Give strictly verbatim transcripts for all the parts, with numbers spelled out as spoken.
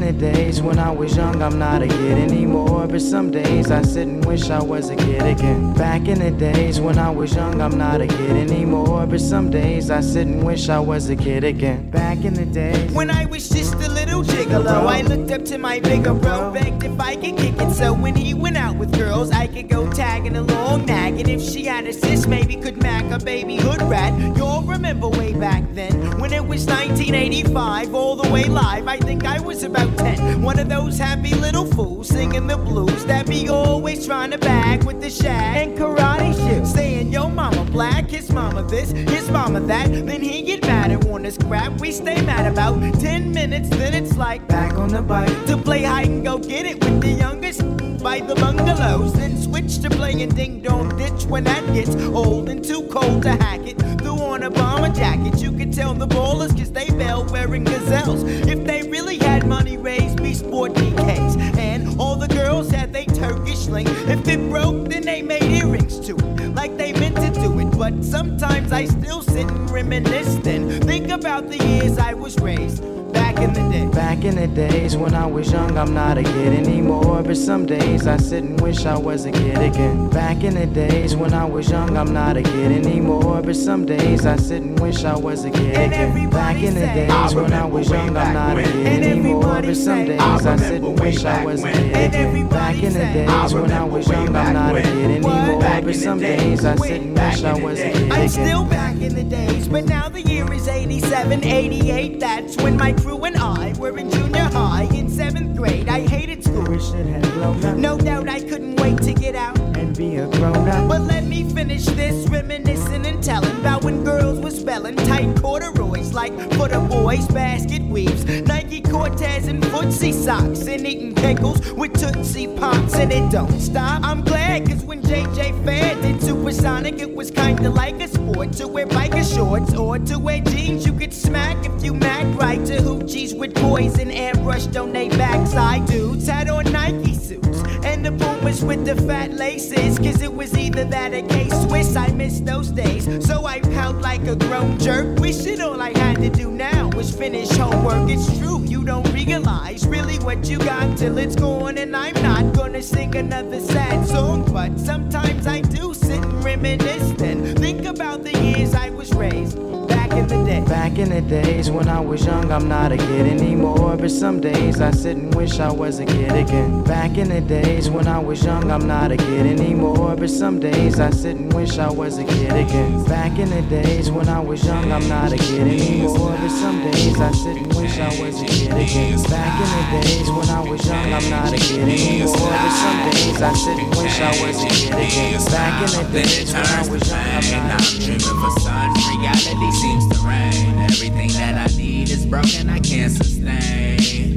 the days when I was young, I'm not a kid anymore. But some days I sit and wish I was a kid again. Back in the days when I was young, I'm not a kid anymore. But some days I sit and wish I was a kid again. Back in the days when I was just a little gigolo, I looked up to my bigger bro, begged if I could kick it. So when he went out with girls, I could go tagging along, nagging. If she had a sis, maybe could mac a baby hood rat. You'll remember way back then when it was nineteen eighty-five, all the way live. I think I was about ten. One of those happy little fools singing the blues that be always trying to bag with the shag and karate shoes, saying yo mama black, his mama this, his mama that. Then he get mad and want us crap. We stay mad about ten minutes, then it's like back on the bike to play hide and go get it with the youngest by the bungalows. Then switch to playing ding dong ditch when that gets old and too cold to hack it. Threw on a bomber jacket, you could tell the ballers cause they fell wearing gazelles. If they really had money raised, be sport D Ks. And all the girls had they Turkish link. If it broke, then they made earrings to it, like they meant to do it. But sometimes I still sit and reminisce, then think about the years I was raised. Back in the day. Back in the days when I was young, I'm not a kid anymore. But some days I sit and wish I was a kid again. Back in the days when I was young, I'm not a kid anymore. But some days I sit and wish I was a kid again. Back in the days when I was young, I'm not a kid anymore. But some days I sit and wish I was a kid again. Back in the days when I was young, I'm not a kid anymore. But some days I sit and wish I was a kid again. I'm still back in the days, but now the year is eighty-seven, eighty-eight. That's when my crew and I were in junior high in seventh grade. I hated school. Wish it had blown up. No doubt I couldn't wait to get out and be a grown up. But let me finish this, reminiscing and telling about when girls were spelling tight corduroys like for the boys, basket weaves, Nike Cortez and footsie socks, and eating pickles with Tootsie Pops. And it don't stop. I'm glad cause when J J Fair did Supersonic, it was kinda like a sport to wear biker shorts or to wear jeans you could smack if you mac right. To hoochies with poison airbrush on they backside. Dudes had on Nike suits and the boomers with the fat laces, cause it was either that or K-Swiss. I miss those days, so I pout like a grown jerk, wishing all I had to do now was finish homework. It's true, you don't realize really what you got till it's gone. And I'm not gonna sing another sad song, but sometimes I do sit and reminisce, then think about the years I was raised. Back in the day. Back in the days when I was young, I'm not a kid anymore. But some days I sit and wish I was a kid again. Back in the days when I was young, I'm not a kid anymore. But some days I sit and wish I was a kid again. Back in the days when I was young, I'm not a kid anymore. But some days I sit and wish I was a kid again. Back in the days when I was young, I'm not a kid anymore. But some days I sit and wish I was a kid again. Back in the days when I was young, I'm not a kid anymore. Reality seems to reign. Everything that I need is broken, I can't sustain.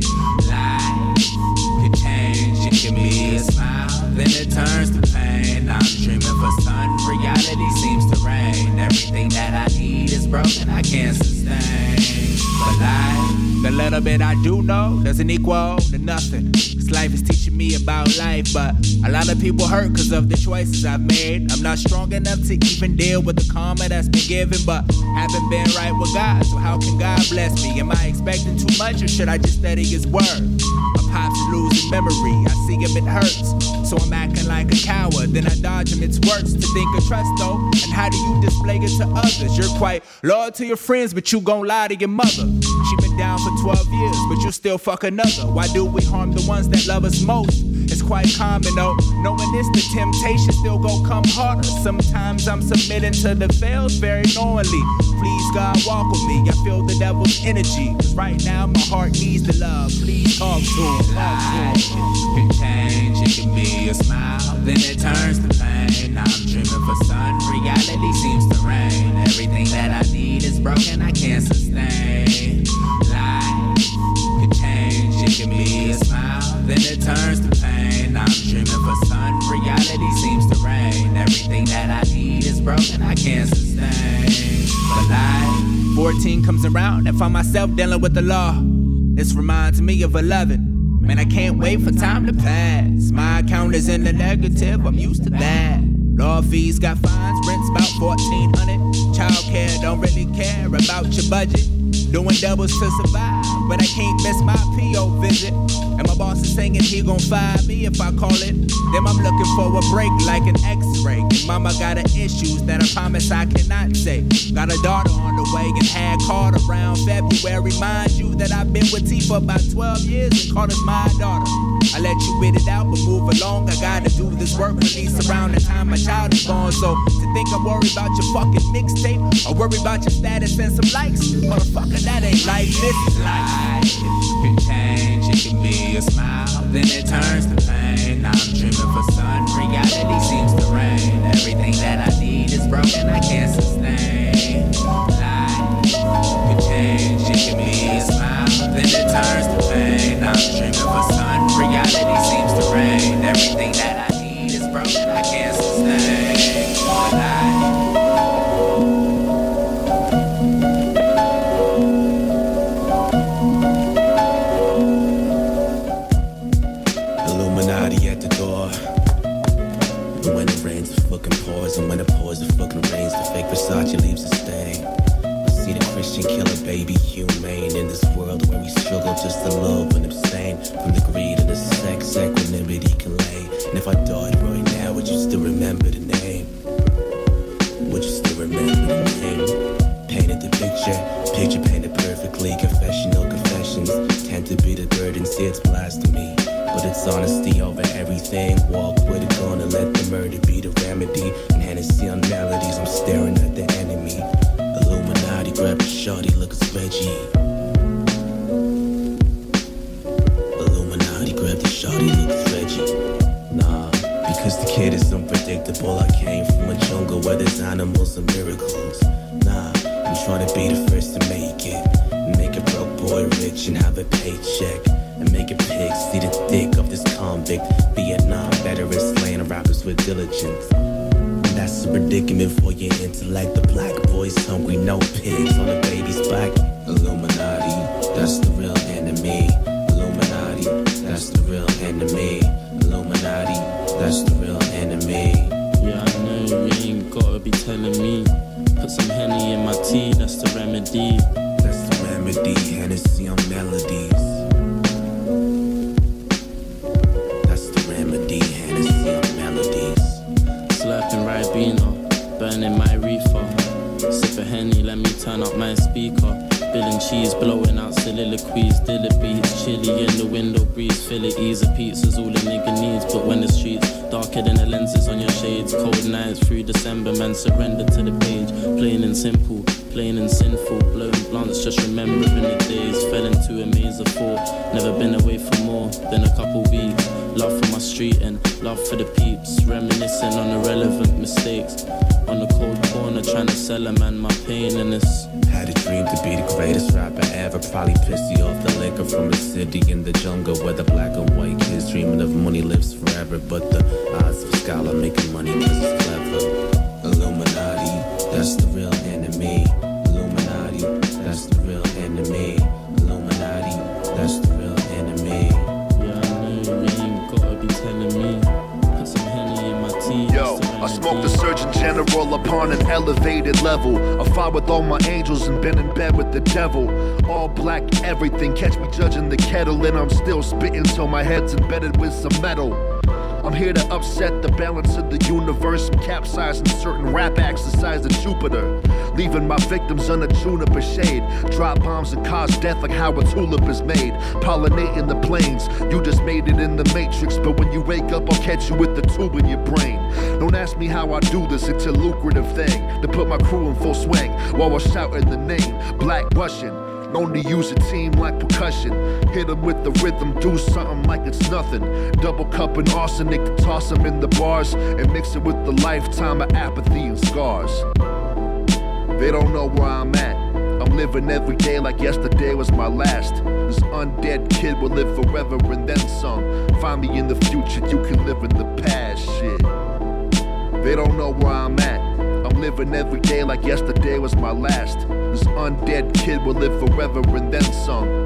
Life could change, it can be a smile, then it turns to pain. I'm dreaming for sun, reality seems to reign. Everything that I need is broken, I can't sustain. But life, the little bit I do know doesn't equal to nothing. Cause life is teaching me about life, but a lot of people hurt cause of the choices I've made. I'm not strong enough to even deal with the karma that's been given, but haven't been right with God, so how can God bless me? Am I expecting too much or should I just study his word? My pops losing memory, I see him, it hurts, so I'm acting like a coward, then I dodge him. It's worse to think of trust though, and how do you display it to others? You're quite loyal to your friends, but you gon' lie to your mother. She been down for twelve years, but you still fuck another. Why do we harm the ones that love us most? It's quite common though, knowing this, the temptation still gon' come harder. Sometimes I'm submitting to the fails very knowingly. Please God walk with me, I feel the devil's energy, cause right now my heart needs the love. Please talk to him. Life can change, it can be a smile, then it turns to pain. I'm dreaming for sun, reality seems to reign. Everything that I need is broken, I can't sustain. Life can change, it can be a smile, then it turns to pain. I'm dreaming for sun, reality seems to reign. Everything that I need is broken, I can't sustain. But life, fourteen comes around and find myself dealing with the law. This reminds me of eleven. Man, I can't wait for time to pass. My account is in the negative, I'm used to that. Law fees got fines, rent's about fourteen hundred. Childcare don't really care about your budget. Doing doubles to survive, but I can't miss my P O visit. And my boss is saying he gon' fire me if I call it. Then I'm looking for a break like an X-ray. And mama got her issues that I promise I cannot say. Got a daughter on the way and had called around February. Mind you that I've been with T for about twelve years and called us my daughter. I let you wait it out, but move along. I gotta do this work release around the time my child is born. So to think I'm worried about your fucking mixtape or worry about your status and some likes, motherfucker, that ain't life. This is life. It can change, it can be a smile, then it turns to pain. Now I'm dreaming for sun, reality seems to reign. Everything that I need is broken, I can't sustain. Life can change, it can be a smile, then it turns to pain. Now I'm dreaming for sun, reality seems to reign. Everything that I need is broken, I can't sustain. Life. And when it pours, it fucking rains. The fake Versace leaves a stain. I see the Christian killer, baby, humane. In this world where we struggle just to love and abstain from the greed and the sex, equanimity can lay. And if I died right now, would you still remember the name? Would you still remember the name? Painted the picture, picture painted perfectly. Confessional confessions tend to be the burden, see it's blasphemy. But it's honesty over everything. Walk with a gun and let the murder be the remedy. And Hennessy on melodies, I'm staring at the enemy. Illuminati, grab a shorty, look it's Reggie. Illuminati, grab the shorty, look it's Reggie. Nah, because the kid is unpredictable. I came from a jungle where there's animals and miracles. Nah, I'm trying to be the first to make it. Make a broke boy rich and have a paycheck. And make a pig see the dick of this convict. Vietnam veteran slaying rappers with diligence. And that's a predicament for your intellect. The black boy's hungry, no pigs on the baby's back. Illuminati, that's the real enemy. Illuminati, that's the real enemy. Illuminati, that's the real enemy. Yeah, I know you ain't gotta be telling me. Put some Henny in my tea, that's the remedy. That's the remedy, Hennessy on melodies. Slurping Ribena, burning my reefer. Sip a Henny, let me turn up my speaker. Bill and cheese blowing out soliloquies. Dilla beats, chilly in the window breeze. Fill it easy, pizza's all a nigga needs. But when the streets darker than the lenses on your shades, cold nights through December, man surrender to the page. Plain and simple, plain and sinful. Blowing blunts, just remembering the days. Fell into a maze of four. Never been away for more than a couple weeks. Love for my street and love for the peeps. Reminiscing on irrelevant mistakes. On the cold corner trying to sell a man my pain and this. Had a dream to be the greatest rapper ever. Probably pissed you off the liquor from a city in the jungle where the black and white kids dreaming of money lives forever. But the odds of a scholar making money cause it's clever. Illuminati, that's the real enemy. Illuminati, that's the real enemy. Illuminati, that's the real enemy. Yeah, I know you ain't gotta be telling me. Put some Henny in my tea. Yo, I smoked the Surgeon General upon an elevated level. I fought with all my angels and been in bed with the devil. All black everything, catch me judging the kettle, and I'm still spitting till my head's embedded with some metal. I'm here to upset the balance of the universe. I'm capsizing certain rap acts the size of Jupiter, leaving my victims under juniper shade. Drop bombs and cause death like how a tulip is made. Pollinating the plains, you just made it in the matrix. But when you wake up, I'll catch you with the tube in your brain. Don't ask me how I do this, it's a lucrative thing to put my crew in full swing while we're shouting the name Black Russian. Known to use a team like percussion. Hit them with the rhythm, do something like it's nothing. Double cup and arsenic to toss them in the bars and mix it with the lifetime of apathy and scars. They don't know where I'm at. I'm living every day like yesterday was my last. This undead kid will live forever and then some. Find me in the future, you can live in the past, shit. They don't know where I'm at. I'm living every day like yesterday was my last. This undead kid will live forever and then some.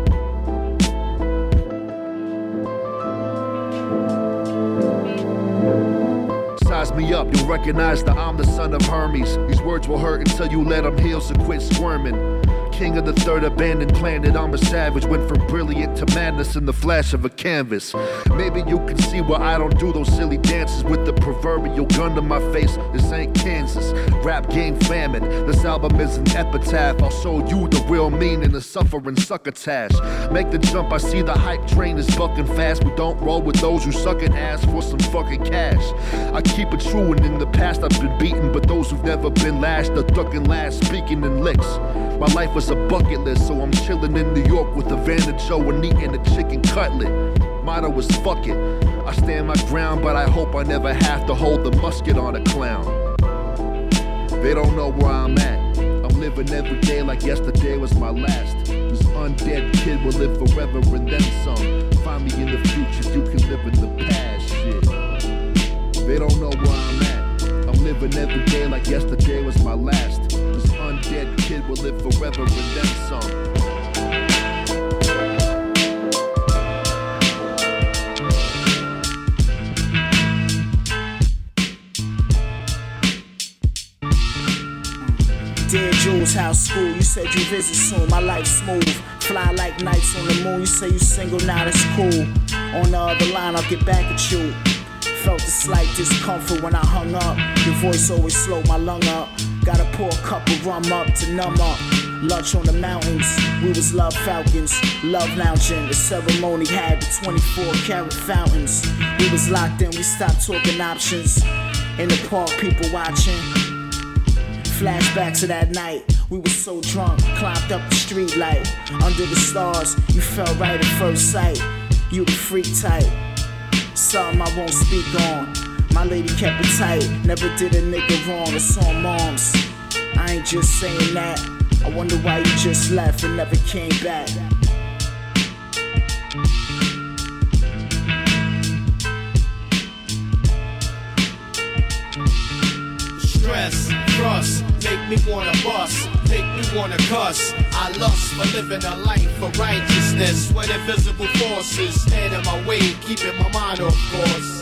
size me up, you'll recognize that I'm the son of Hermes. These words will hurt until you let them heal, so quit squirming. King of the third abandoned planet, I'm a savage. Went from brilliant to madness in the flash of a canvas. Maybe you can see why I don't do those silly dances with the proverbial gun to my face. This ain't Kansas, rap game famine. This album is an epitaph. I'll show you the real meaning of suffering succotash. Make the jump, I see the hype train is bucking fast. We don't roll with those who suck at ass for some fucking cash. I keep it true, and in the past I've been beaten, but those who've never been lashed are ducking last, speaking in licks. My life was a bucket list, so I'm chilling in New York with Havana Joe and eating a chicken cutlet. Motto is fuck it. I stand my ground, but I hope I never have to hold the musket on a clown. They don't know where I'm at. I'm living every day like yesterday was my last. This undead kid will live forever and then some. Find me in the future, you can live in the past, shit. They don't know where I'm at. I'm living every day like yesterday was my last. This undead kid will live forever and then some. Dear Jules, house school, you said you visit soon, my life smooth. Fly like nights on the moon, you say you single, now that's cool. On the other line, I'll get back at you. Felt a slight discomfort when I hung up. Your voice always slowed my lung up. Gotta pour a cup of rum up to numb up. Lunch on the mountains, we was love falcons. Love lounging, the ceremony had the twenty-four karat fountains. We was locked in, we stopped talking options. In the park, people watching. Flashbacks of that night, we were so drunk, climbed up the street light. Under the stars, you felt right at first sight. You the freak type, something I won't speak on. My lady kept it tight, never did a nigga wrong, it's on moms. I ain't just saying that, I wonder why you just left and never came back. Stress, trust, make me wanna bust, make me wanna cuss. I lust for living a life of righteousness, when invisible forces stand in my way, keeping my mind off course.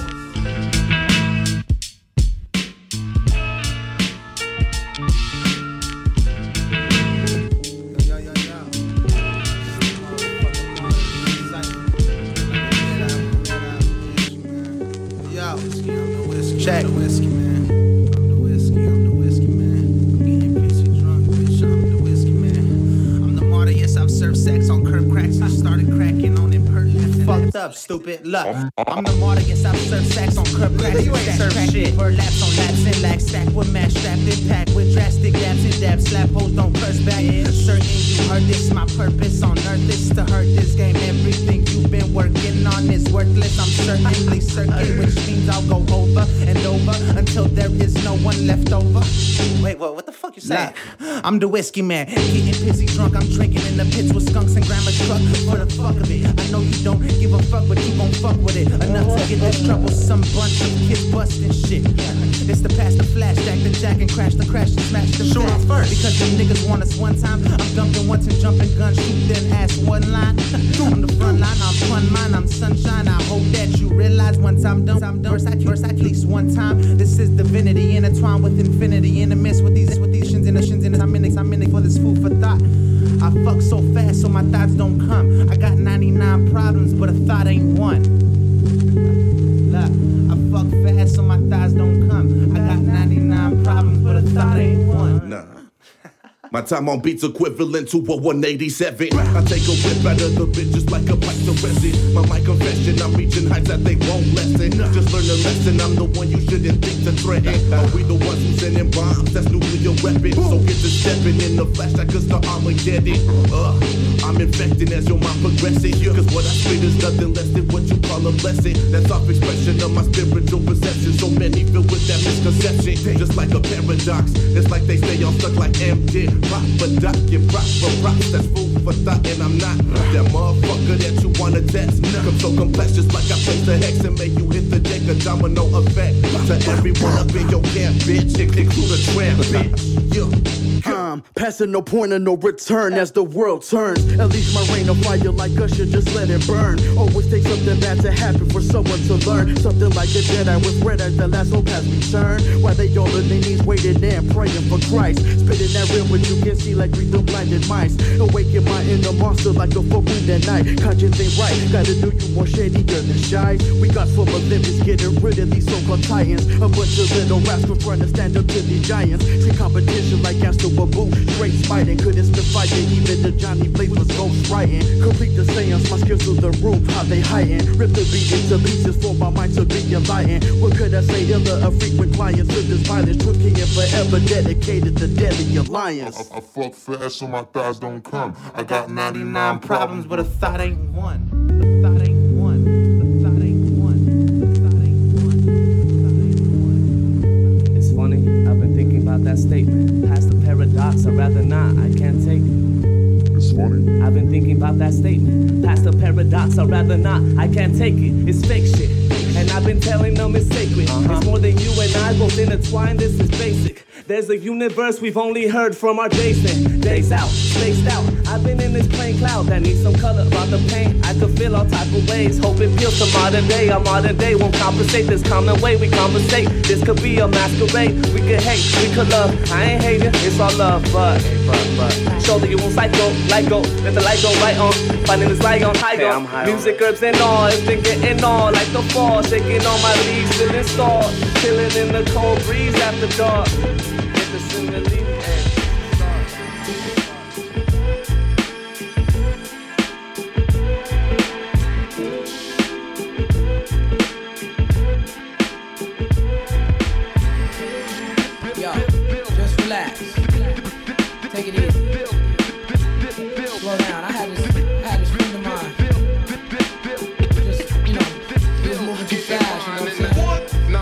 Check. I'm the whiskey, man. I'm the whiskey, I'm the whiskey, man. I'm getting pissy drunk, bitch. I'm the whiskey, man. I'm the martyr, yes, I've served sex on curb cracks. I started cracking on impertinence. Fucked up, stupid. Look, I'm the martyr, yes, I've served sex on curb cracks. You ain't served shit. Bird laps on laps and lax, stack with match, strapped in pack with drastic dabs and dabs. Slap hoes, don't curse back. Certain you heard this, my purpose on earth is to hurt this game. Everything you've been working on is worthless. I'm certainly certain, which means I'll go over and over until there is no one left over. Wait, what? What the fuck you saying? Nah, I'm the whiskey man, getting pissy drunk. I'm drinking in the pits with skunks and grandma's truck for the fuck of it. I know you don't give a fuck, but you gon' fuck with it enough to get this troublesome bunch of kids busting shit. It's the past, the flash, stack the jack and crash the crash and smash the sure first. Because them niggas want us one time. I'm dumping once and jumping gun, shoot then ask one line. I'm the front line, I'm fun mine, I'm sunshine. I hope that you realize once I'm done, I'm done. First I first at least one time. This is divinity intertwined with infinity in the midst with these with these shins and the shins and I'm in it, I'm in it for this food for thought. I fuck so fast so my thoughts don't come. I got ninety-nine problems, but a thought ain't one. Look, I fuck fast so my thoughts don't come. I got ninety-nine problems, but a thought ain't one. Nah. My time on beats equivalent to a one eighty-seven. I take a whip out of the bitch just like a pipe to resin. My my confession, I'm reaching heights that they won't lessen. Just learn a lesson, I'm the one you shouldn't think to threaten. Are we the ones who sending bombs? That's nuclear weapons. So get to stepping in the flash like it's the Armageddon. Uh, I'm infecting as your mind progresses. Cause what I spit is nothing less than what you call a blessing. That's off expression of my spiritual perception. So many filled with that misconception. Just like a paradox, it's like they stay all stuck like M. Dick. Pop a duck, you rock for rocks, that's food for thought, and I'm not that motherfucker that you wanna test. Come so complex, just like I placed the hex and make you hit the deck, a domino effect. To everyone up in your camp, bitch, include a tramp, bitch. Yeah. I'm passing no point of no return as the world turns. At least my rain of fire like Usher, just let it burn. Always take something bad to happen for someone to learn. Something like a Jedi with red as the last hope has returned. While they all on their knees waiting and praying for Christ. Spitting that real what you can see like rhythm blinded mice. Awaken my inner monster like a full moon at night. Conscience ain't right, gotta do you more shadier than shy. We got full of limits, getting rid of these so-called titans. A bunch of little rascals trying to stand up to these giants. See competition like Astro Babu, straight smiting. Couldn't spit fighting, even the Johnny Blaze was ghost writing. Complete the seance, my skills through the roof, how they hiding. Rip the beat into pieces for my mind to be enlightened. What could I say, iller, a frequent client to this violence. Truth king and forever dedicated to deadly alliance. I, I, I fuck fast so my thighs don't come. I got ninety-nine problems, but a thought ain't one. A thought ain't one. A thought ain't one. A thought ain't one. It's funny, I've been thinking about that statement. Past the paradox, I'd rather not, I can't take it. It's funny. I've been thinking about that statement. Past the paradox, I'd rather not, I can't take it. It's fake shit. And I've been telling them it's sacred. Uh-huh. It's more than you and I both intertwined, this is basic. There's a universe we've only heard from our Jason. Days out, spaced out. I've been in this plain cloud that needs some color. About the pain, I could feel all type of ways. Hope it feels to modern day. Our modern day won't compensate this common way we conversate. This could be a masquerade. We could hate, we could love. I ain't hating, it's all love, but, but, but. Shoulder you won't psycho, light go, let the light go right on. Finding this light on high go. Hey, music, herbs and all, it's been getting all like the fall. Shaking on my leaves, still installed. Chilling in the cold breeze after dark. Get the single leaf, hey. Yo, just relax. Take it easy. Slow down. I had this, I had this friend of mine. Just, you know, he was moving too fast, you know what I'm saying?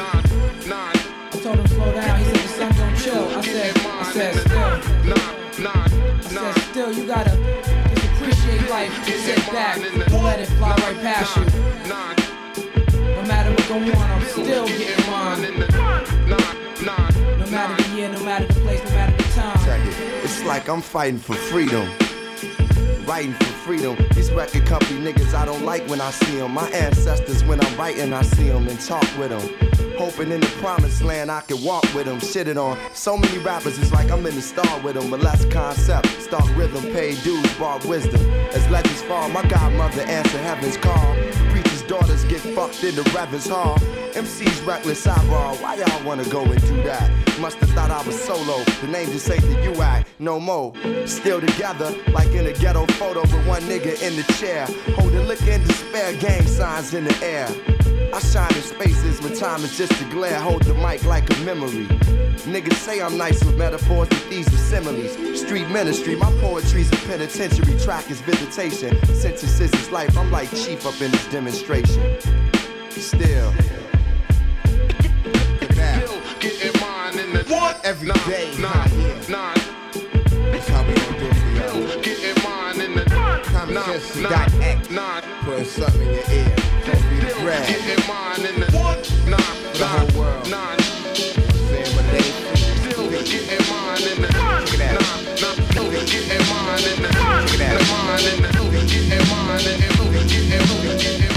I told him slow down. He said the sun don't chill. I said, I said still. I said still, you gotta just appreciate life. Sit back, don't let it fly right past you. No matter what go on, I'm still getting mine. No matter the year, no matter the place, no matter the time. Check it. It's like I'm fighting for freedom. Writing for freedom. These record company niggas I don't like when I see them. My ancestors when I'm writing I see them and talk with them. Hoping in the promised land I can walk with them. Shitted on so many rappers it's like I'm in the star with them. But less concept, stark rhythm, pay dues, bar wisdom. As legends fall, my godmother answer heaven's call. Preachers' daughters get fucked in the Reverend's hall. M C's reckless eyeball, why y'all wanna go and do that? Must've thought I was solo, the name just ain't the U I, no more. Still together, like in a ghetto photo with one nigga in the chair. Holding liquor in despair, gang signs in the air. I shine in spaces when time is just a glare. Hold the mic like a memory. Niggas say I'm nice with metaphors, but these are similes. Street ministry, my poetry's a penitentiary. Track is visitation. Synthesis is life, I'm like chief up in this demonstration. Still. Getting mine in the what? Every day. Nine, nine. That's how we gon' do it for y'all. Getting mine in the Common sense to dot X. Putting something in your ear. Don't be the bread. Getting mine in the nine, for the whole world. Nine. Saying what they Still getting mine in the nine, nine. Getting mine in the mine in the getting mine in the getting getting.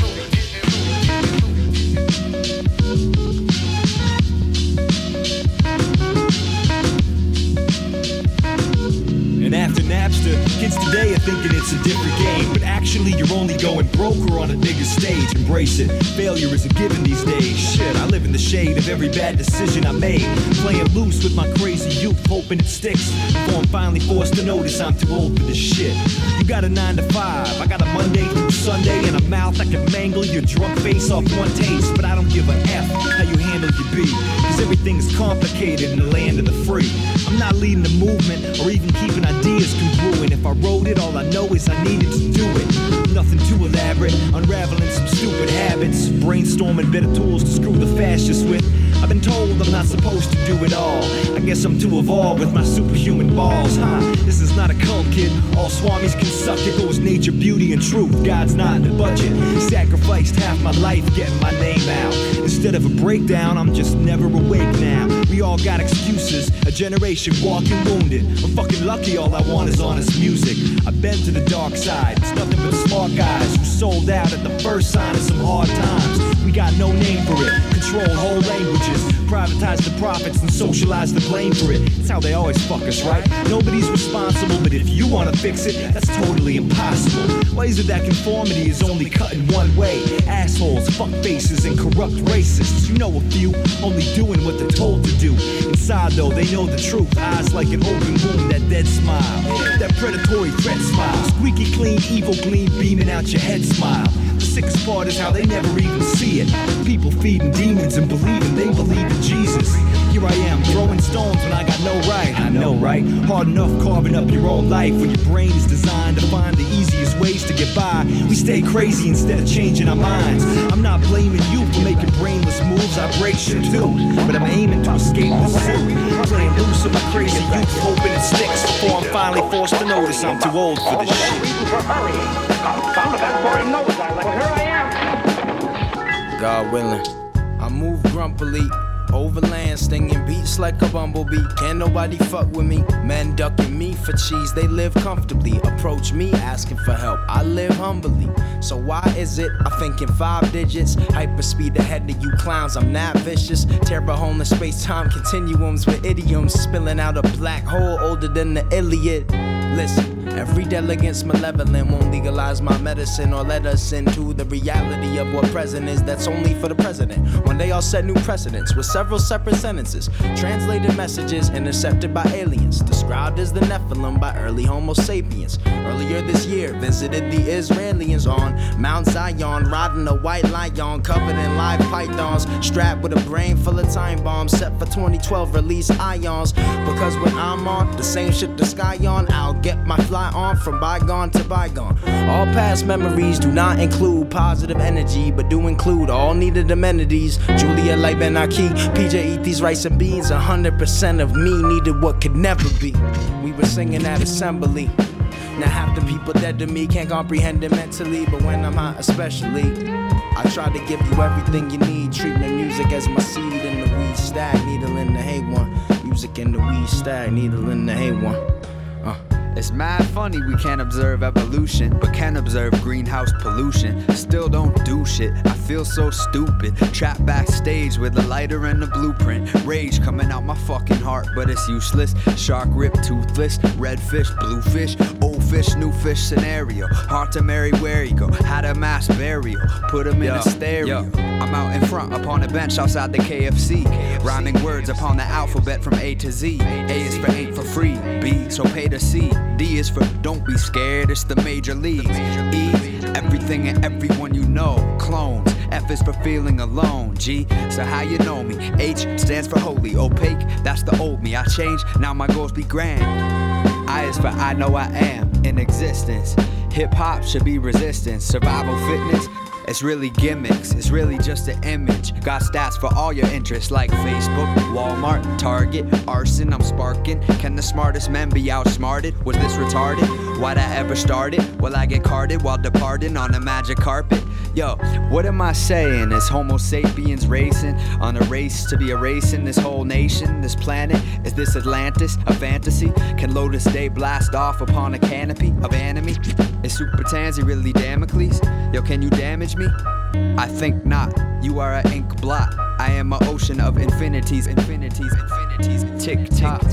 And after Napster, kids today are thinking it's a different game. But actually you're only going broke or on a bigger stage. Embrace it, failure is a given these days. Shit, I live in the shade of every bad decision I made. Playing loose with my crazy youth, hoping it sticks. Before I'm finally forced to notice I'm too old for this shit. You got a nine to five, I got a Monday through Sunday. And a mouth that can mangle your drunk face off one taste. But I don't give a F how you handle your beat. Cause everything is complicated in the land of the free. I'm not leading the movement or even keeping ideas congruent. If I wrote it, all I know is I needed to do it. Nothing too elaborate, unraveling some stupid habits. Brainstorming better tools to screw the fascists with. I've been told I'm not supposed to do it all. I guess I'm too evolved with my superhuman balls, huh? This is not a cult, kid. All swamis can suck. It goes nature, beauty, and truth. God's not in the budget. Sacrificed half my life getting my name out. Instead of a breakdown, I'm just never awake now. We all got excuses. A generation walking wounded. I'm fucking lucky. All I want is honest music. I've been to the dark side. It's nothing but smart guys who sold out at the first sign of some hard times. We got no name for it. Control whole languages. Privatize the profits and socialize the blame for it. It's how they always fuck us, right? Nobody's responsible, but if you wanna fix it, that's totally impossible. Why is it that conformity is only cut in one way? Assholes, fuckfaces, and corrupt racists. You know a few, only doing what they're told to do. Inside though, they know the truth. Eyes like an open wound, that dead smile. That predatory threat smile. Squeaky clean, evil gleam beaming out your head smile. The sickest part is how they never even see it. People feeding demons and believing they believe in Jesus. Here I am, throwing stones when I got no right. I know, right? Hard enough carving up your own life when your brain is designed to find the easiest ways to get by. We stay crazy instead of changing our minds. I'm not blaming you for making brainless moves. I break shit too, but I'm aiming to escape the zoo. Playing loose with my crazy youth, hoping it sticks before I'm finally forced to notice I'm too old for this shit. God willing, I move grumpily. Overland, stinging beats like a bumblebee. Can't nobody fuck with me. Men ducking me for cheese, they live comfortably. Approach me asking for help, I live humbly. So why is it I think in five digits? Hyperspeed ahead of you clowns, I'm not vicious. Tear a hole in space-time continuums with idioms. Spilling out a black hole older than the Iliad. Listen, every delegant's malevolent won't legalize my medicine or let us into the reality of what present is. That's only for the president. One day I'll set new precedents with several separate sentences. Translated messages intercepted by aliens. Described as the Nephilim by early Homo sapiens. Earlier this year, visited the Israelis on Mount Zion, riding a white lion covered in live pythons. Strapped with a brain full of time bombs set for twenty twelve release ions. Because when I'm on the same ship the sky on, I'll get my fly on from bygone to bygone. All past memories do not include positive energy, but do include all needed amenities. Julia like Ben Aki, P J eat these rice and beans. A hundred percent of me needed what could never be. We were singing at assembly. Now half the people dead to me can't comprehend it mentally, but when I'm hot especially, I try to give you everything you need. Treatment music as my seed in the weed stack, needle in the hay one. Music in the weed stack, needle in the hay one. Uh. It's mad funny we can't observe evolution, but can observe greenhouse pollution. Still don't do shit, I feel so stupid. Trapped backstage with a lighter and a blueprint. Rage coming out my fucking heart, but it's useless. Shark rip, toothless, red fish, blue fish, old fish, new fish scenario. Hard to marry, where you go? Had a mass burial, put him in yo, a stereo. Yo. I'm out in front upon a bench outside the K F C. Rhyming words upon the alphabet from A to Z. A is for ain't for free, B, so pay to see. D is for don't be scared, it's the major leagues. E, everything and everyone you know. Clones, F is for feeling alone. G, so how you know me. H stands for holy, opaque, that's the old me. I changed, now my goals be grand. I is for I know I am in existence. Hip hop should be resistance. Survival fitness, it's really gimmicks, it's really just an image. Got stats for all your interests like Facebook, Walmart, Target, arson, I'm sparking. Can the smartest men be outsmarted? Was this retarded? Why'd I ever start it? Will I get carded while departing on a magic carpet? Yo, what am I saying? Is Homo sapiens racing on a race to be erasing this whole nation, this planet? Is this Atlantis, a fantasy? Can Lotus Day blast off upon a canopy of enemy? Is Super Tansy really Damocles? Yo, can you damage me? I think not. You are an ink blot. I am an ocean of infinities, infinities, infinities, tick tock.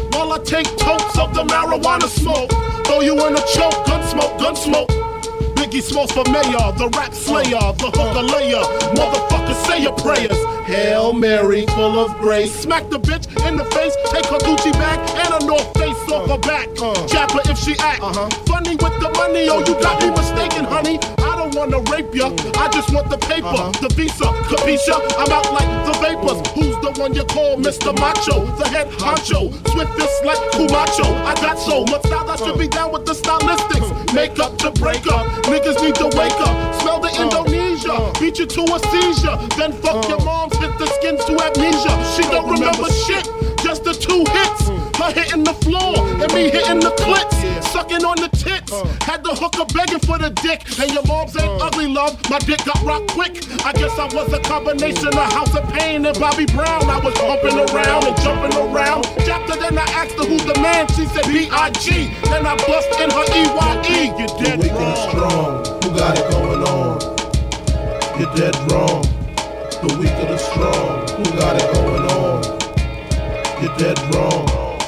Take totes of the marijuana smoke. Throw you in a choke, gun smoke, gun smoke. Big Biggie Smalls for mayor, the rap slayer, the hooker layer. Motherfucker, say your prayers. Hail Mary, full of grace. Smack the bitch in the face, take her Gucci bag and a North Face off her back. Jab her if she act funny with the money. Oh, you got me mistaken, honey. I don't wanna rape ya, I just want the paper, the visa, capisha. I'm out like the vapors. Who's the one you call Mister Macho? The head honcho, swiftest like Kumacho. I got so much style I should be down with the stylistics. Make up to break up, niggas need to wake up. Smell the Indonesia, beat you to a seizure. Then fuck your moms, hit the skin to amnesia. She don't remember shit, just the two hits. Her hitting the floor and me hitting the clits. Sucking on the tits, had the hooker begging for the dick. And your moms ain't ugly, love, my dick got rocked quick. I guess I was a combination of House of Pain and Bobby Brown. I was bumping around and jumping around. Jacked her, then I asked her who's the man. She said B I G Then I bust in her E Y E. You're dead the weak wrong. And the strong, who got it going on? You're dead wrong. The weak and the strong, who got it going on? You're dead wrong.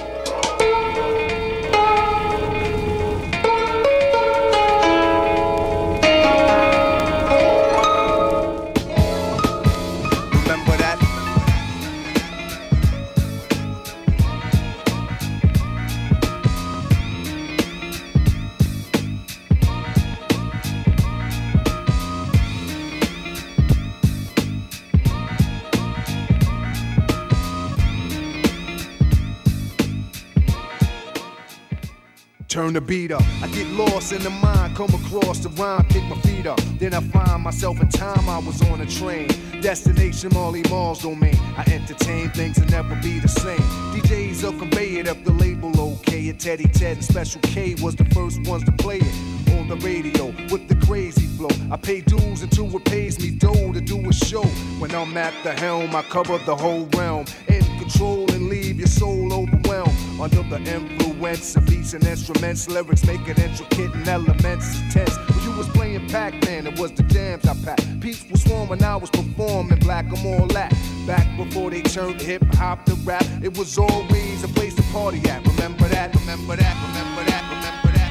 Turn the beat up, I get lost in the mind, come across the rhyme, pick my feet up. Then I find myself in time, I was on a train. Destination Marley Marl's domain. I entertain things that never be the same. D Js will convey it up the label, okay. And Teddy Ted and Special K was the first ones to play it on the radio with the crazy flow. I pay dues until it pays me dough to do a show. When I'm at the helm, I cover the whole realm. In control and leave your soul overwhelmed. Under the influence of beats and instruments, lyrics make it intricate and elements intense. When you was playing Pac-Man, it was the jams I packed. Peeps was swarming, I was performing black, I'm all that. Back before they turned hip-hop to rap, it was always a place to party at. Remember that, remember that, remember that, remember that.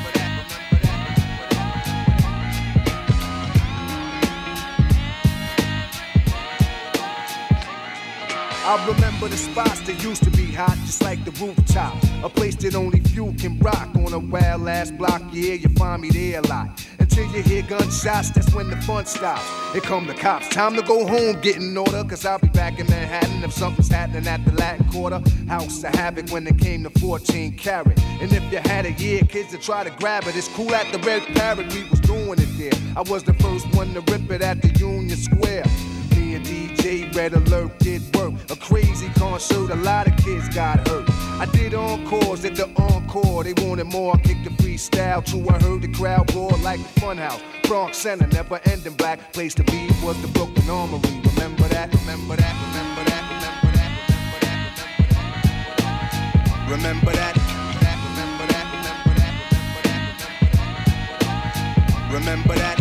I remember the spots that used to be hot, just like the rooftop. A place that only few can rock on a wild ass block. Yeah, you find me there a lot. Until you hear gunshots, that's when the fun stops. Here come the cops, time to go home, get in order. Cause I'll be back in Manhattan if something's happening at the Latin Quarter. House of Havoc when it came to fourteen karat. And if you had a year, kids to try to grab it. It's cool at the Red Parrot, we was doing it there. I was the first one to rip it at the Union Square. Me and D J Red Alert did work. A crazy concert, a lot of kids got hurt. I did encores at the encore. They wanted more, I kicked the freestyle. True, I heard the crowd roar like a funhouse. Bronx Center, never ending black. Place to be was the Brooklyn Armory. Remember that, remember that, remember that, remember that, remember that. Remember that, remember that, remember that, remember that.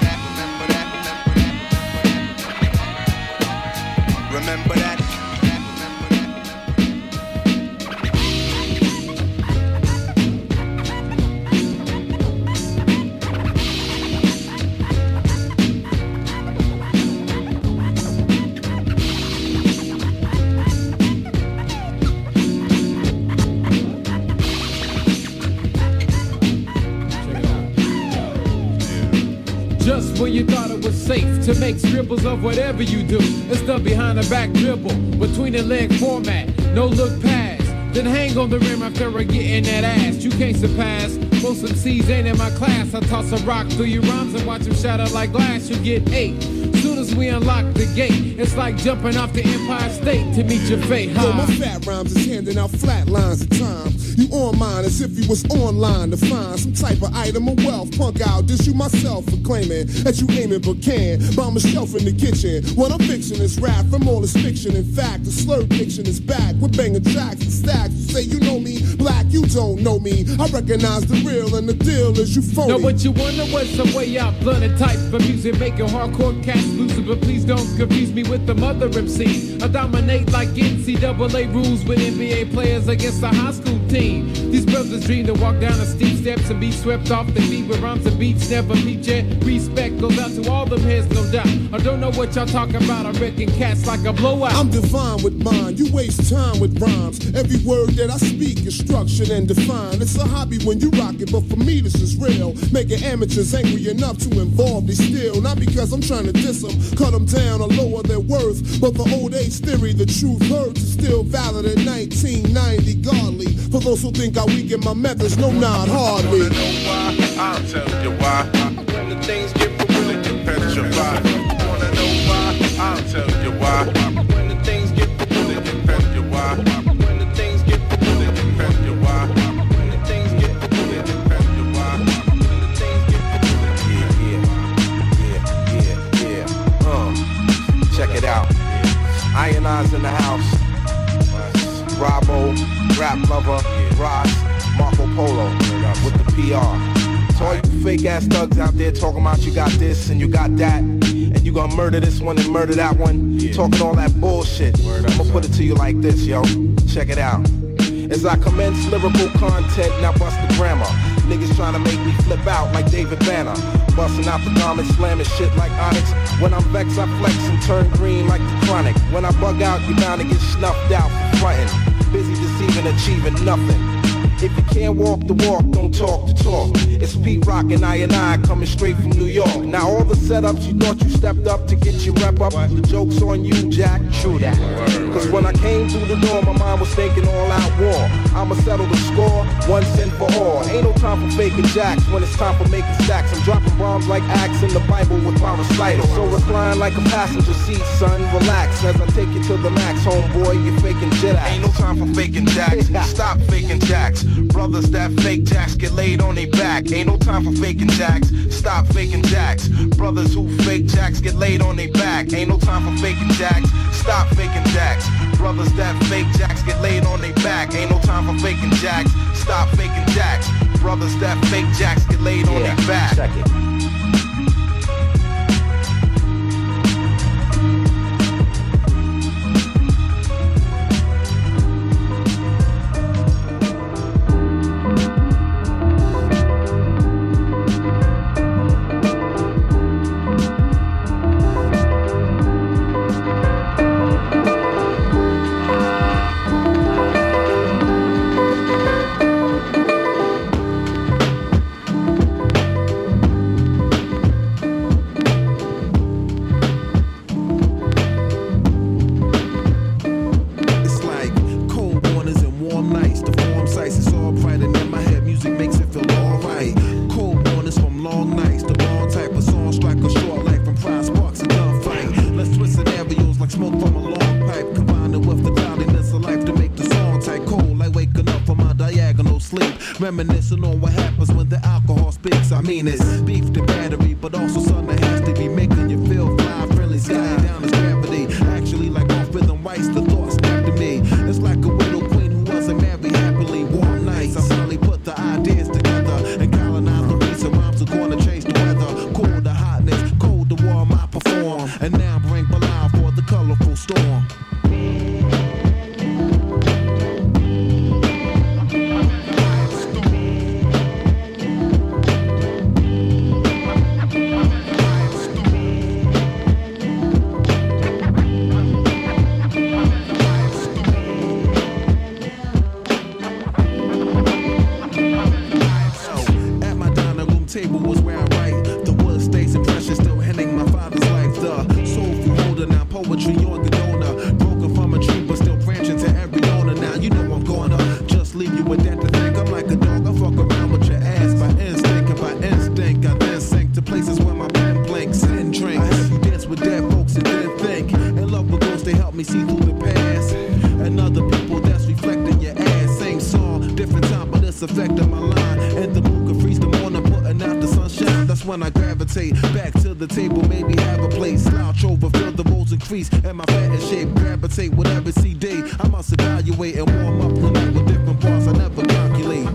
Remember that. Just when you thought it was safe to make scribbles of whatever you do, it's done behind the back dribble, between the leg format, no look pass. Then hang on the rim after I get in that ass. You can't surpass. Most M Cs ain't in my class. I toss a rock through your rhymes and watch them shatter like glass. You get eight. Soon as we unlock the gate, it's like jumping off the Empire State to meet your fate. Huh? Yo, my fat rhymes is handing out flat lines at times. You on mine as if you was online to find some type of item of wealth. Punk out, dish you myself for claiming that you aiming but can. Bomb a shelf in the kitchen. What I'm fixing is rap from all this fiction. In fact, the slurred fiction is back with banging tracks and stacks. You say you know me, black you don't know me. I recognize the real and the deal is you phony. No, but you wonder what's some way out, blunt and type of music, making hardcore cats lose it. But please don't confuse me with the mother M C. I dominate like N C double A rules with N B A players against a high school team. These brothers dream to walk down the steep steps and be swept off the feet with rhymes and beats never peep yet. Respect goes out to all them heads, no doubt. I don't know what y'all talking about. I reckon cats like a blowout. I'm divine with mine. You waste time with rhymes. Every word that I speak is structured and defined. It's a hobby when you rock it, but for me this is real. Making amateurs angry enough to involve they still. Not because I'm trying to diss them, cut them down or lower their worth. But the old age theory, the truth hurts, is still valid in nineteen ninety. Godly. For those who think I weaken my methods, no, not hardly. You wanna know why? I'll tell you why. When the things get real, you petrified. You wanna know why? I'll tell you why. When the things get real, you petrified. When the things get real, you petrified. When the things get real, you petrified. When the things get real, yeah, yeah, yeah, yeah. Uh, check it out. Iron Eyes in the house. Bravo, Rap Lover, Ross, Marco Polo, with the P R. So all you fake ass thugs out there talking about you got this and you got that, and you gonna murder this one and murder that one, yeah. Talking all that bullshit. I'ma put it to you like this, yo. Check it out. As I commence lyrical content, now bust the grammar. Niggas trying to make me flip out like David Banner. Busting out the garment, slamming shit like Onyx. When I'm vexed, I flex and turn green like the Chronic. When I bug out, you bound to get snuffed out for frontin'. Busy deceiving, achieving nothing. If you can't walk the walk, don't talk the talk. It's Pete Rock and I and I coming straight from New York. Now all the setups you thought you stepped up to get your rep up, the joke's on you, Jack. True that. Cause when I came through the door, my mind was thinking all out war. I'ma settle the score, once and for all. Ain't no time for faking jacks when it's time for making stacks. I'm dropping bombs like Acts in the Bible with my recital. So recline like a passenger seat, son, relax. As I take you to the max, homeboy, you're faking jet acts. Ain't no time for faking jacks, stop faking jacks. Brothers that fake jacks get laid on their back. Ain't no time for faking jacks, stop faking jacks. Brothers who fake jacks get laid on their back. Ain't no time for faking jacks, stop faking jacks. Brothers that fake jacks get laid on their back. Ain't no time for faking jacks, stop faking jacks. Brothers that fake jacks get laid on yeah, their back. Check it. Reminiscing on what happens when the alcohol speaks. I mean it's beef to battery, but also something that has to be making you feel fly, friendly, sky down as gravity. Actually, like off rhythm rights, the thought snapped to me. It's like a widow queen who wasn't married happily. Warm nights, I finally put the ideas together and colonize the reason rhymes are gonna change the weather. Cool the hotness, cold the warm I perform, and now bring Bilal for the colorful storm. streets and my fat and shape. Gravitate with every C D. I must evaluate and warm up the night with different parts I never calculate.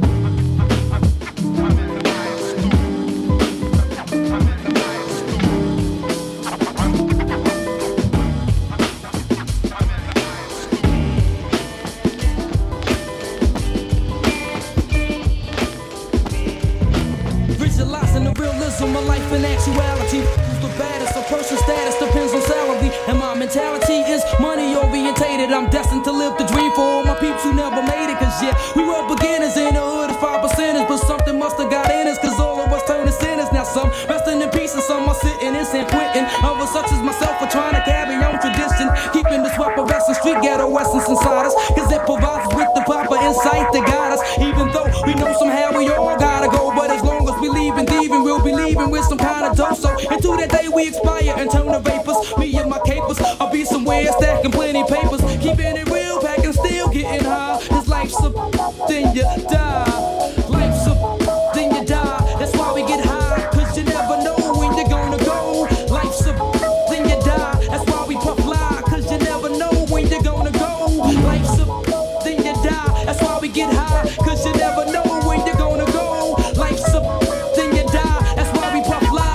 Visualizing the realism of life in actuality. Who's the baddest? A person's status depends on salary. And my mentality is money orientated. I'm destined to live the dream for all my peeps who never made it. Cause yeah, we were beginners in the hood as five percenters. But something must have got in us, cause all of us turned to sinners. Now some resting in peace and some are sitting in San Quentin. Others such as myself are trying to carry on tradition. Keeping the swap of and street ghetto essence inside us. Cause it provides us with the proper insight to guide us. Even though we know somehow we all gotta go. But as long as we leave and thieving, we'll be leaving with some kind of dough. So until that day we expire and turn to vapors, me and my capers, I'll be somewhere stacking plenty papers. Keeping it real, packing still getting high. Cause life's a then you die. Life's a then you die. That's why we get high. Cause you never know when you're gonna go. Life's a then you die. That's why we puff fly. Cause you never know when you're gonna go. Life's a then you die. That's why we get high. Cause you never know when you're gonna go. Life's a then you die. That's why we puff fly.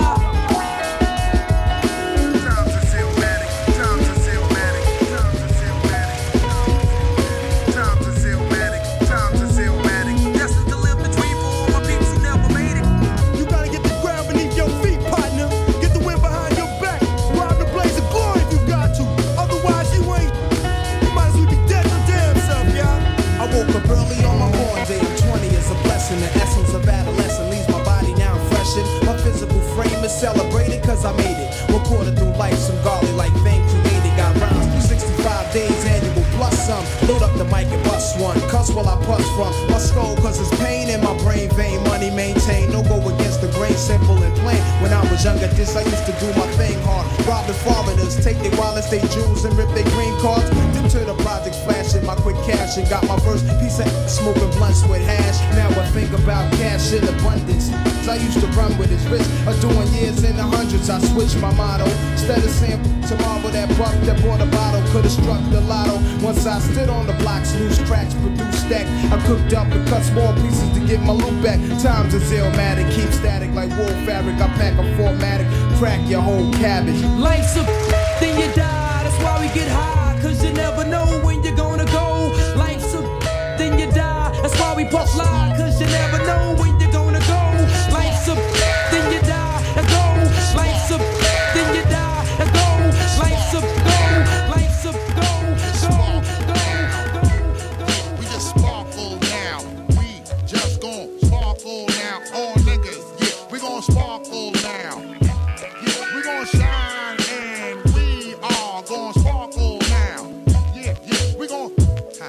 The essence of adolescence leaves my body now freshened. My physical frame is celebrated cause I made it. Recorded through life, some golly like thing created. Got rhymes three sixty-five days annual plus some. Load up the mic and bust one. Cuss while I puss from my skull cause it's pain in my brain vein. Money maintained, no go against the grain, simple and plain. When I was younger, this I used to do my thing hard. Robbing foreigners, take their wallets, they jewels and rip their green cards. Dip to the projects, flashing my quick cash and got my first piece of smoking blunts with hash. Now I think about cash in abundance. I used to run with his wrist, or doing years in the hundreds. I switched my motto. Instead of saying tomorrow that buck that bought a bottle could've struck the lotto. Once I stood on the blocks, loose tracks, produced stack. I cooked up and cut small pieces to get my loot back. Times is illmatic, keep static like wool fabric. I pack a formatic, crack your whole cabbage. Life's a then you die. That's why we get high. Cause you never know when you're gonna go. Life's a then you die. That's why we puff fly. Cause you never know when you're gonna go. Life's a then you die. Let's go. Life's a then you die. Let's go. Life's a go. Life's a go. Go. Go. Go. We just sparkle now. We just gon' sparkle now. All niggas, yeah, we gon' sparkle now. Yeah, we gon' shine and we are gon' sparkle now. Yeah, yeah, we gon' huh.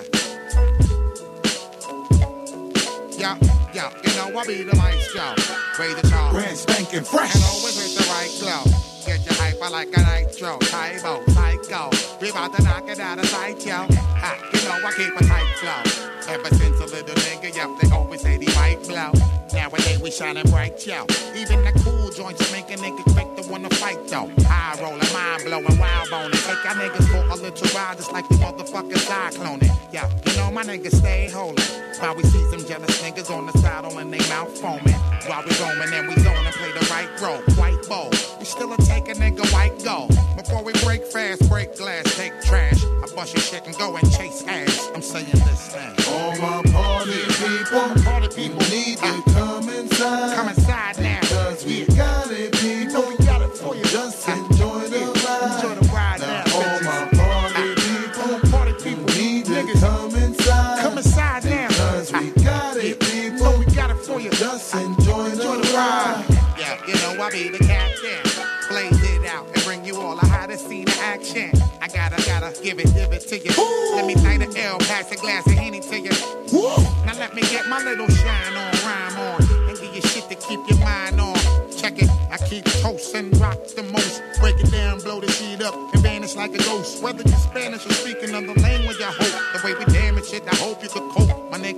Yeah, yeah, you know I be the maestro. Raise the charge. Brand spanking fresh. And always with the right glow. Get your hyper like a nitro. Tybo, psycho. We about to knock it out of sight, yo. Ha, you know I keep a tight flow. Ever since a little nigga, yo, they always say they might blow. Nowadays we shining bright, yo. Even the cool joints make a nigga quick to wanna fight, though. High rolling, mind blowing, wild boning. Take our niggas for a little ride, just like the motherfuckers cycloning. Yeah, you know my niggas stay holding. While we see some jealous niggas on the saddle and they mouth foaming. While we roaming and we zone and play the right role, quite bold. We still a take a nigga white gold. Before we break fast, break glass, take trash. I bust your shit and go and chase ass. I'm saying this thing. All my party people, party people need to come inside. Come inside now. Cause we got it, people. So we got it for you. Just enjoy the ride. Enjoy the ride now. now all my party people, party people need to niggas. come inside. Come inside now. Cause we got it, people. So we got it for you. Just enjoy, enjoy the, the ride. ride. Yeah, you know I be the captain. Blaze it out and bring you all the hottest scene of action. I gotta, gotta give it, give it to you. Ooh. Let me light a L, pass a glass of Henny to you. Ooh. Now let me get my little shine on, rhyme on, and give you shit to keep your mind on. Check it, I keep toasting, rock the most. Break it down, blow the shit up, and vanish like a ghost. Whether you're Spanish or speaking another language, I hope. The way we damage it, I hope you could cope, my nigga.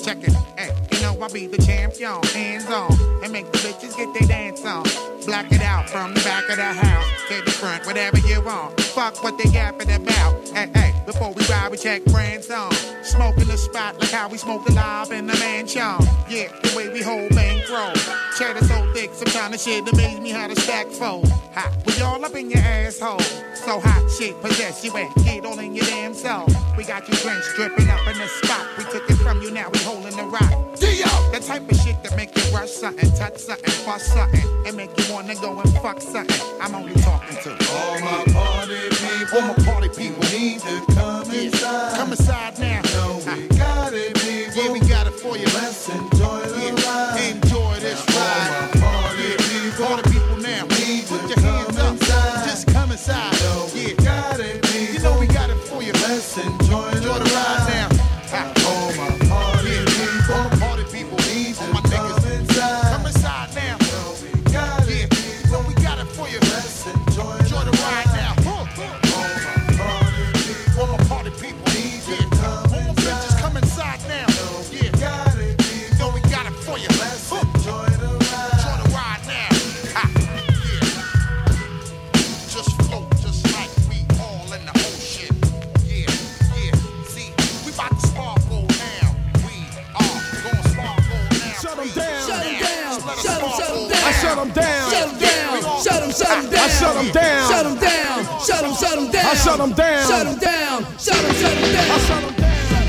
check it. Hey, you know I be the champion. Hands on and make the bitches get their dance on. Black it out from the back of the house to the front, whatever you want. Fuck what they yapping about. Hey, hey, before we ride, we check brands on. Smoking the spot like how we smoke the live in the mansion. Yeah, the way we hold bankroll. Cheddar so thick, some kind of shit amaze me how to stack fold. Hot, we all up in your asshole. So hot shit, possess you and get all in your damn soul. We got you drenched, dripping up in the spot. We took it from you, now we holding the rock. Dio! The type of shit that make you rush something, touch something, fuss something, and make you wanna go and fuck something. I'm only talking to all my party people. All my party people need to come inside. Come inside now. No, we got it, people. Yeah, we got it for you. Let's enjoy the yeah. ride. Enjoy this now, ride. All my party yeah. people. All the people now. Need Put to your hands up. Inside. Just come inside. No, yeah. we got it, people. You know we got it for you. Let's enjoy, enjoy the ride now. All my party yeah. people. All the party people. Need all to my niggas. Inside. Come inside now. No, we got yeah. it, people. So we got it for you. Let's enjoy, enjoy the ride now. All my party people. All my party people. Need to yeah. come all my bitches come inside now. No, yeah. got it, people. So we got it for you. Let's enjoy the ride. Enjoy the ride now. Ha. Yeah. Just float, just like we all in the ocean. Yeah, yeah. See, we about to sparkle now. We are gonna sparkle now. Shut 'em down. Shut 'em down. Let us Shut 'em, shut 'em sparkle. down. I shut 'em down. Shut 'em down. Shut 'em, shut 'em down. I shut 'em down. Shut 'em down. Shut 'em, shut 'em down. I shut 'em down. Shut 'em down. Shut 'em, shut 'em down. I shut 'em down.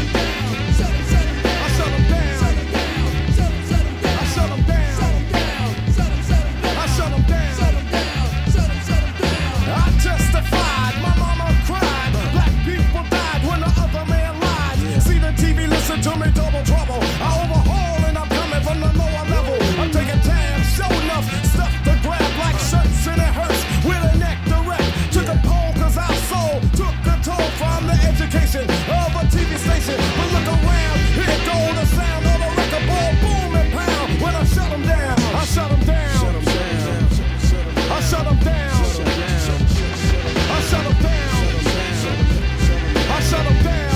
To me, double trouble. I overhaul and I'm coming from the lower level. I'm taking time, show enough stuff to grab like shirts and it hurts with a neck direct to the pole, cause our soul took the toll from the education of a T V station. But look around, here go the sound of a record ball, boom and pound. When I shut them down, I shut them down. I shut them down. I shut them down. I shut them down.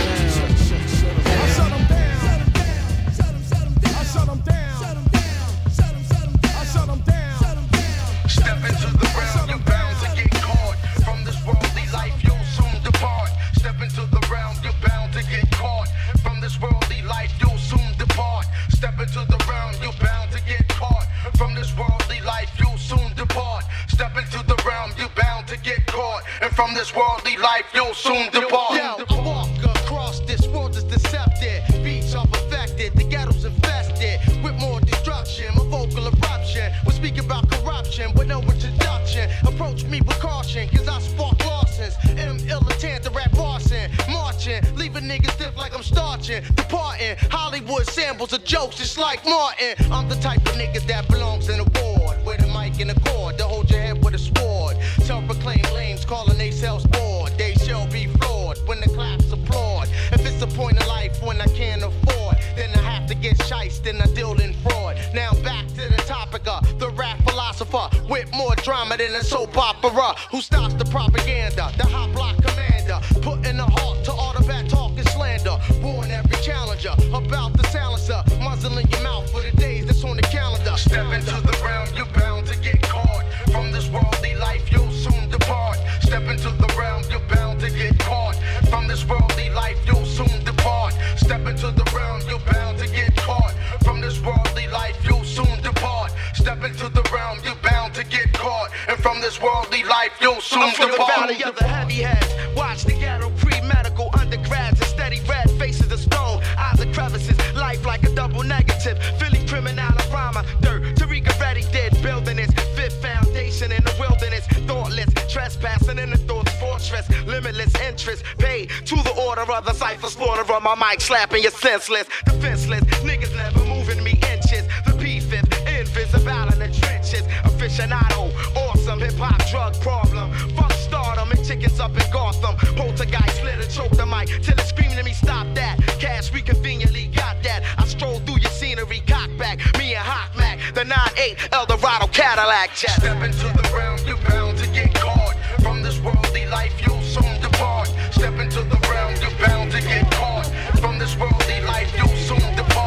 From this worldly life, you'll soon depart. Yo, I walk across this world is deceptive. Beats are perfected, the ghetto's infested with more destruction. My vocal eruption will speak about corruption with no introduction. Approach me with caution, cause I spark losses. M militant, the rap arson, marching, leaving niggas stiff like I'm starching. Departing, Hollywood samples of jokes just like Martin. I'm the type of niggas that belongs in a ward with a mic and a cord to hold your head with a sword. Self-proclaimed lames calling they selves bored. They shall be floored when the claps applaud. If it's a point of life when I can't afford, then I have to get shiced and I deal in fraud. Now back to the topic of the rap philosopher with more drama than a soap opera. Who stops the propaganda? The hot block commander, putting a halt to all the bad talk and slander. Warn every challenger about the silencer, muzzling your mouth for the days that's on the calendar. Step into the realm, you're bound to get caught. From this worldly life, you'll soon depart. Step into the realm, you're bound to get caught. From this worldly life, you'll soon depart. Step into the realm, you're bound to get caught. From this worldly life, you'll soon depart. Step into the realm, you're bound to get caught. And from this worldly life, you'll soon I'm from depart. the valley of the heavy heads. Watch the ghetto pre-medical undergrads and steady red faces of stone. Eyes of crevices, life like a double negative. Philly criminal rhymer, dirt. Tariq already did building its fifth foundation in the wilderness. Thoughtless, trespassing in the thoughts fortress. Limitless interest, paid to the order of the cipher slaughter on my mic, slapping you senseless. Defenseless, niggas never moving me inches. The P-fifth, invisible in the trenches. Aficionado, awesome hip-hop drug problem. Fuck stardom and chickens up in Gotham. Poltergeist lit and choke the mic till it's screaming at me, stop that. Cash, we conveniently got that. I stroll through your scenery, cock back. Me and Hawk Mac, the nine eight Eldorado Cadillac jet. Step into the realm, you're bound to get caught. From this worldly life, you'll soon depart. Step into the realm, you're bound to get caught. From this worldly life, you'll soon depart.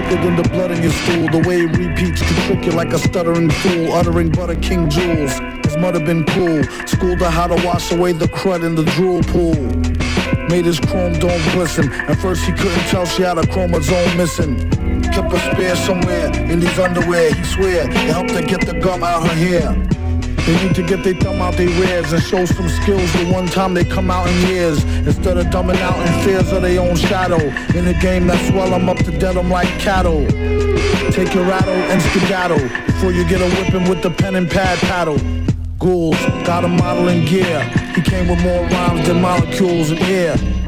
thicker than the blood in your stool. The way it repeats can trick you like a stuttering fool, uttering butter king jewels. His mother been cool, schooled her how to wash away the crud in the drool pool. Made his chrome dome glisten. At first he couldn't tell she had a chromosome missing. Kept a spare somewhere in these underwear. He swear it helped her get the gum out her hair. They need to get their thumb out their rears and show some skills the one time they come out in years. Instead of dumbing out in fears of their own shadow. In a game that swell them up to dead them like cattle. Take your rattle and skedaddle before you get a whipping with the pen and pad paddle. Ghouls, got a model in gear. He came with more rhymes than molecules in air.